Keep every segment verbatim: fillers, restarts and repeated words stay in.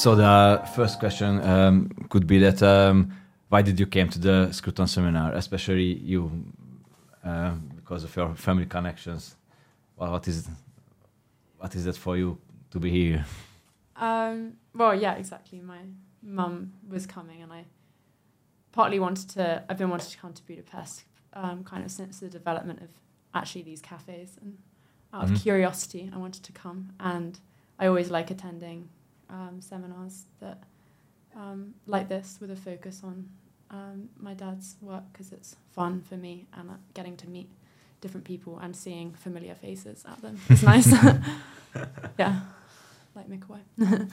So the first question um, could be that um, why did you came to the Scruton seminar, especially you, uh, because of your family connections? Well, what is what is that for you to be here? Um, well, yeah, exactly. My mum was coming, and I partly wanted to. I've been wanting to come to Budapest, um, kind of since the development of actually these cafes, and out Mm-hmm. of curiosity, I wanted to come. And I always like attending um, seminars that um, like this, with a focus on um, my dad's work, because it's fun for me, and uh, getting to meet different people and seeing familiar faces at them. It's nice. Yeah, like Mikołaj.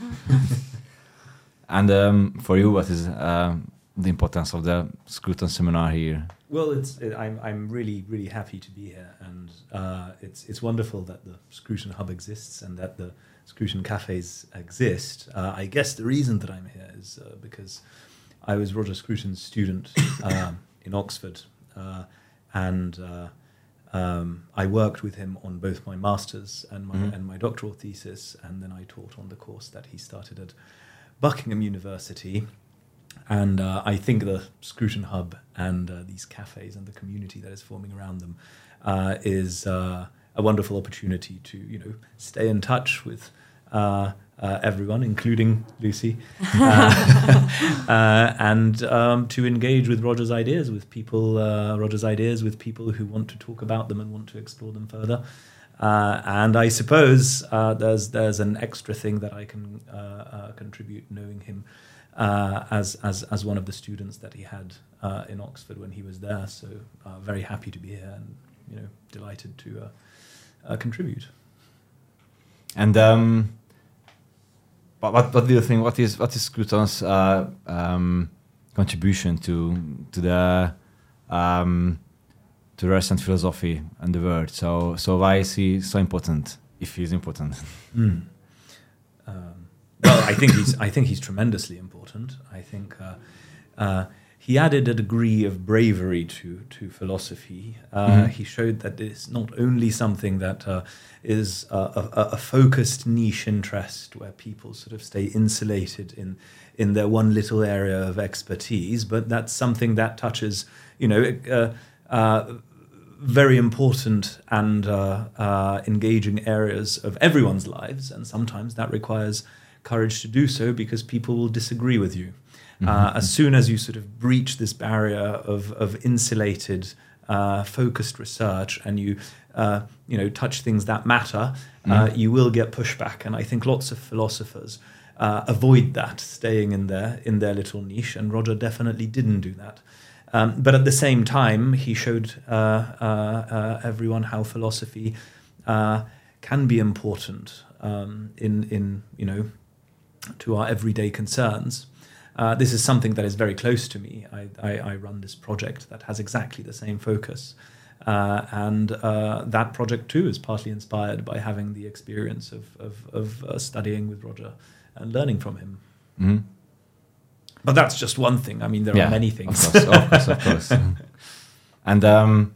And um, for you, what is um, the importance of the Scruton seminar here? Well, it's it, I'm I'm really really happy to be here, and uh, it's it's wonderful that the Scruton Hub exists and that the Scruton cafes exist. Uh, I guess the reason that I'm here is uh, because I was Roger Scruton's student um, in Oxford, uh, and uh, um, I worked with him on both my master's and my Mm-hmm. and my doctoral thesis, and then I taught on the course that he started at Buckingham University. And uh, I think the Scruton Hub and uh, these cafes and the community that is forming around them uh, is uh, a wonderful opportunity to, you know, stay in touch with uh, uh, everyone, including Lucy, uh, uh, and um, to engage with Roger's ideas, with people, uh, Roger's ideas with people who want to talk about them and want to explore them further. Uh, and I suppose uh, there's there's an extra thing that I can uh, uh, contribute, knowing him uh, as as as one of the students that he had uh, in Oxford when he was there. So uh, very happy to be here, and you know, delighted to uh, uh, contribute. And um, what, what what do you think? What is what is Scruton's uh, um, contribution to to the um, to recent philosophy and the world? So so why is he so important? If he's important, Mm. Um, well, I think he's I think he's tremendously important. I think uh, uh, he added a degree of bravery to to philosophy. Uh, Mhm. He showed that it's not only something that uh, is a, a, a focused niche interest where people sort of stay insulated in in their one little area of expertise, but that's something that touches, you know, uh, uh, very important and uh, uh, engaging areas of everyone's lives, and sometimes that requires courage to do so because people will disagree with you. Uh, as soon as you sort of breach this barrier of, of insulated, uh, focused research, and you, uh, you know, touch things that matter, uh, you will get pushback. And I think lots of philosophers uh, avoid that, staying in their in their little niche. And Roger definitely didn't do that. Um, but at the same time, he showed uh, uh, uh, everyone how philosophy uh, can be important um, in in you know to our everyday concerns. Uh, this is something that is very close to me. I, I, I run this project that has exactly the same focus. Uh, and uh, that project too is partly inspired by having the experience of, of, of uh, studying with Roger and learning from him. mm-hmm. But that's just one thing. I mean, there Yeah, are many things. Of course, of course, of course. And um,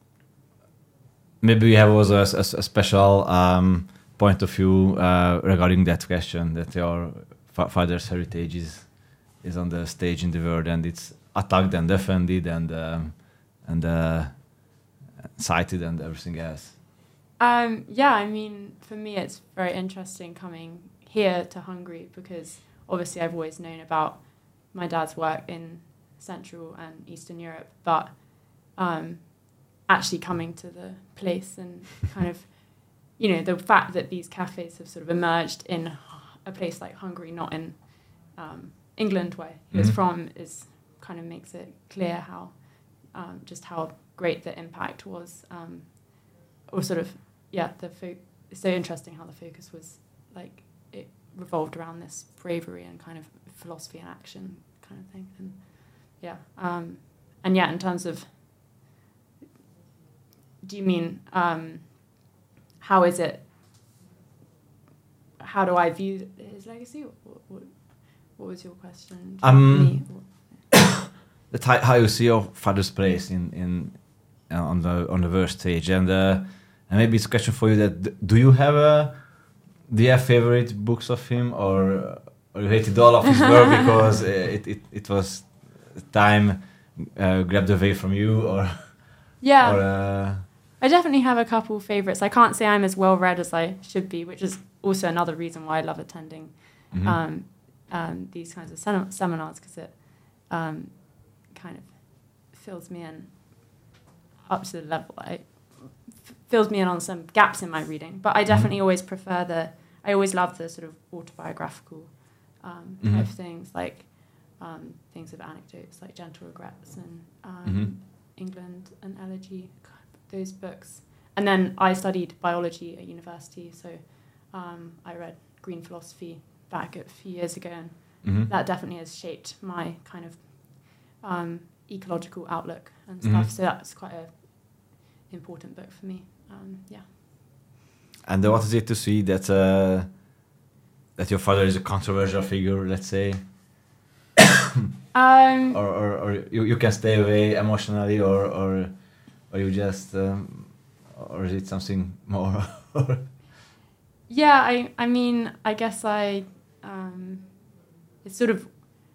maybe we have also a, a, a special um, point of view uh, regarding that question, that your fa- father's heritage is is on the stage in the world, and it's attacked and defended and um, and uh, cited and everything else. Um, yeah, I mean, for me, it's very interesting coming here to Hungary because obviously I've always known about my dad's work in Central and Eastern Europe, but um, actually coming to the place and kind of, you know, the fact that these cafes have sort of emerged in a place like Hungary, not in um, England, where he was Mhm. from, is kind of makes it clear how um, just how great the impact was, um, or sort of yeah. The fo- it's so interesting how the focus was like it revolved around this bravery and kind of philosophy and action kind of thing, and yeah, um, and yeah, in terms of, do you mean um, how is it? How do I view his legacy? What, what, what was your question? to Um, me? That how, how you see your father's place in in uh, on the on the world stage, and uh, and maybe it's a question for you that d- do you have a do you have favorite books of him, or or or you hated all of his work because uh, it, it it was time uh, grabbed away from you, or Yeah. or, uh, I definitely have a couple favorites. I can't say I'm as well read as I should be, which is also another reason why I love attending mhm. um, um, these kinds of sem- seminars, because it um, kind of fills me in up to the level. I, f- fills me in on some gaps in my reading. But I definitely always prefer the, I always love the sort of autobiographical um, Mhm. type things, like um, things of anecdotes, like Gentle Regrets and um, Mhm. England and Elegy, those books. And then I studied biology at university, so um, I read Green Philosophy back a few years ago, and Mhm. that definitely has shaped my kind of um, ecological outlook and Mhm. stuff. So that's quite a important book for me. Um, yeah. And uh, what is it to see that uh, that your father is a controversial figure, let's say, Um, or or, or you, you can stay away emotionally, or or or you just um, or is it something more? yeah, I, I mean, I guess I, um, it's sort of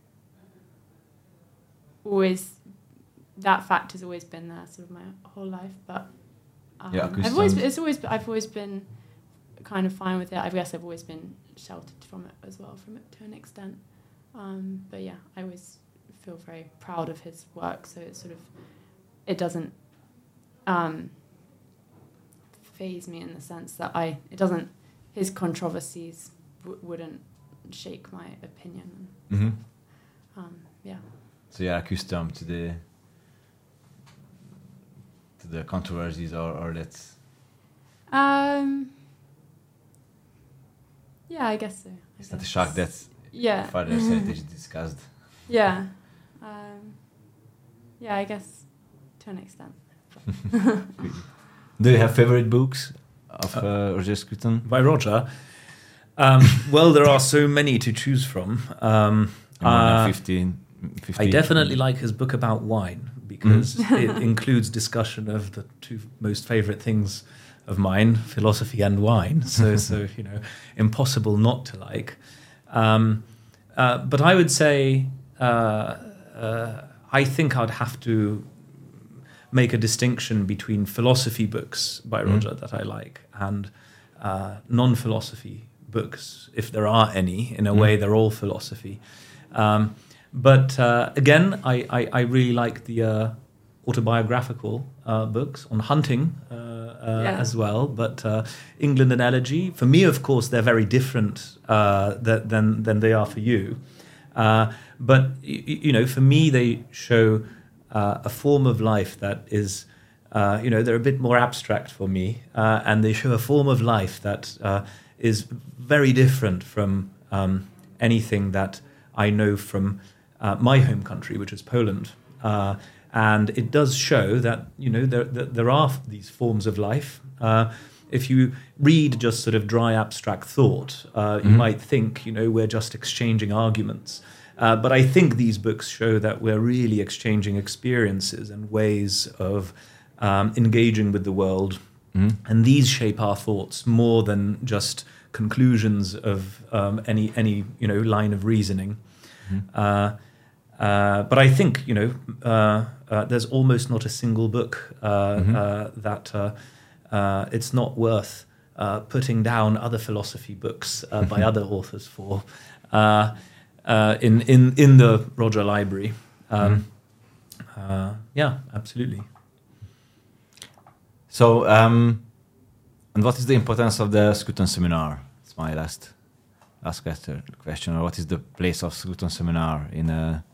always, that fact has always been there sort of my whole life, but um, Yeah, I've always, Christian. it's always, I've always been kind of fine with it. I guess I've always been sheltered from it as well, from it to an extent. Um, but yeah, I always feel very proud of his work, so it sort of, it doesn't um, phase me in the sense that I, it doesn't, his controversies w- wouldn't shake my opinion. Mhm. Um, yeah. So you're accustomed to the to the controversies, or or that's Um, yeah, I guess so. I it's not a guess. shock that Yeah. father's heritage is discussed. Yeah. Um, yeah, I guess to an extent. Do you have favorite books of uh, Roger Scruton? By Roger. Um, well, there are so many to choose from. Um, More than uh, fifteen, fifty. I definitely like his book about wine because it includes discussion of the two most favorite things of mine, philosophy and wine. So, so you know, impossible not to like. Um, uh, but I would say uh, uh, I think I'd have to make a distinction between philosophy books by Mm. Roger that I like and uh, non-philosophy books, if there are any. In a Mm. way, they're all philosophy. Um, but uh, again, I, I, I really like the uh, autobiographical uh, books on hunting uh, uh, Yeah. as well. But uh, England and Elegy, for me, of course, they're very different uh, th- than than they are for you. Uh, but y- y- you know, for me, they show uh, a form of life that is, uh, you know, they're a bit more abstract for me, uh, and they show a form of life that uh, is very different from um, anything that I know from uh, my home country, which is Poland. Uh, and it does show that, you know, there, there, there are these forms of life. Uh, if you read just sort of dry abstract thought, uh, you Mhm. might think, you know, we're just exchanging arguments. Uh, but I think these books show that we're really exchanging experiences and ways of um, engaging with the world. Mm. And these shape our thoughts more than just conclusions of um, any any you know line of reasoning. Mhm. Uh, uh, but I think you know uh, uh, there's almost not a single book uh, Mhm. uh, that uh, uh, it's not worth uh, putting down other philosophy books uh, by other authors for uh, uh, in in in the Roger Library. Um, uh, yeah, absolutely. So, um, and what is the importance of the Scruton Seminar? It's my last last question. Question. Or what is the place of Scruton Seminar in a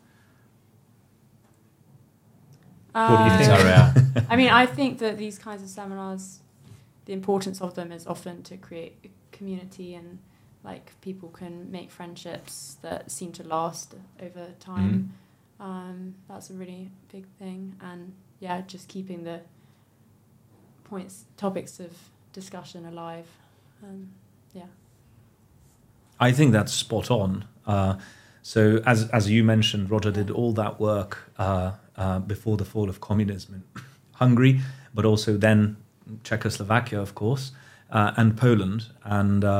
What do you Uh, think? area? I mean, I think that these kinds of seminars, the importance of them is often to create a community, and like people can make friendships that seem to last over time. Um, that's a really big thing, and yeah, just keeping the points, topics of discussion alive. Um, yeah. I think that's spot on. Uh, so, as as you mentioned, Roger did all that work uh, uh, before the fall of communism in Hungary, but also then Czechoslovakia, of course, uh, and Poland. And uh,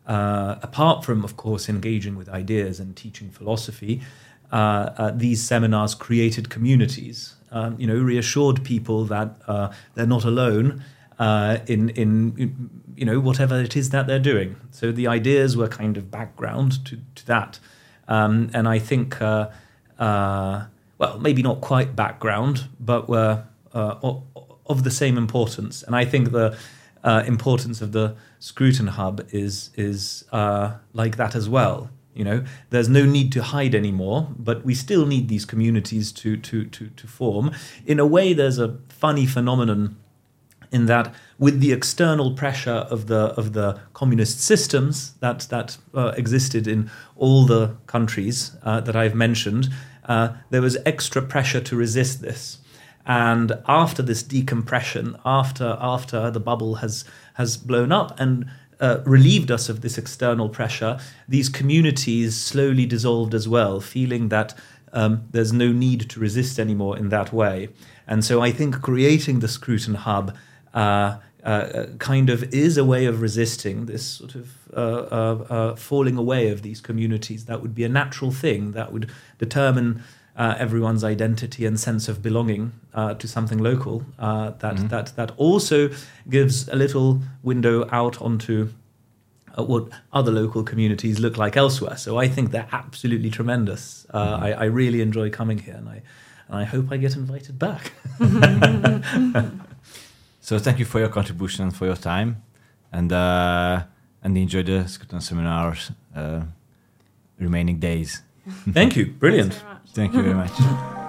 uh, apart from, of course, engaging with ideas and teaching philosophy, uh, uh, these seminars created communities, um, you know, reassured people that uh, they're not alone uh, in, in, you know, whatever it is that they're doing. So the ideas were kind of background to, to that. Um, and I think, uh, uh, well, maybe not quite background, but were uh, of, of the same importance. And I think the uh, importance of the Scruton Hub is is uh, like that as well. You know, there's no need to hide anymore, but we still need these communities to to to to form. In a way, there's a funny phenomenon in that, with the external pressure of the of the communist systems that that uh, existed in all the countries uh, that I've mentioned, uh, there was extra pressure to resist this. And after this decompression, after after the bubble has has blown up and uh, relieved us of this external pressure, these communities slowly dissolved as well, feeling that um, there's no need to resist anymore in that way. And so I think creating the Scruton Hub uh, uh, kind of is a way of resisting this sort of uh, uh, uh, falling away of these communities. That would be a natural thing that would determine Uh, everyone's identity and sense of belonging uh, to something local. Uh, that mm-hmm. that that also gives a little window out onto uh, what other local communities look like elsewhere. So I think they're absolutely tremendous. Uh, mm-hmm. I, I really enjoy coming here, and I and I hope I get invited back. So thank you for your contribution and for your time, and uh, and enjoy the Scruton seminars uh, remaining days. Thank you. Brilliant. Thanks very much. Thank you very much.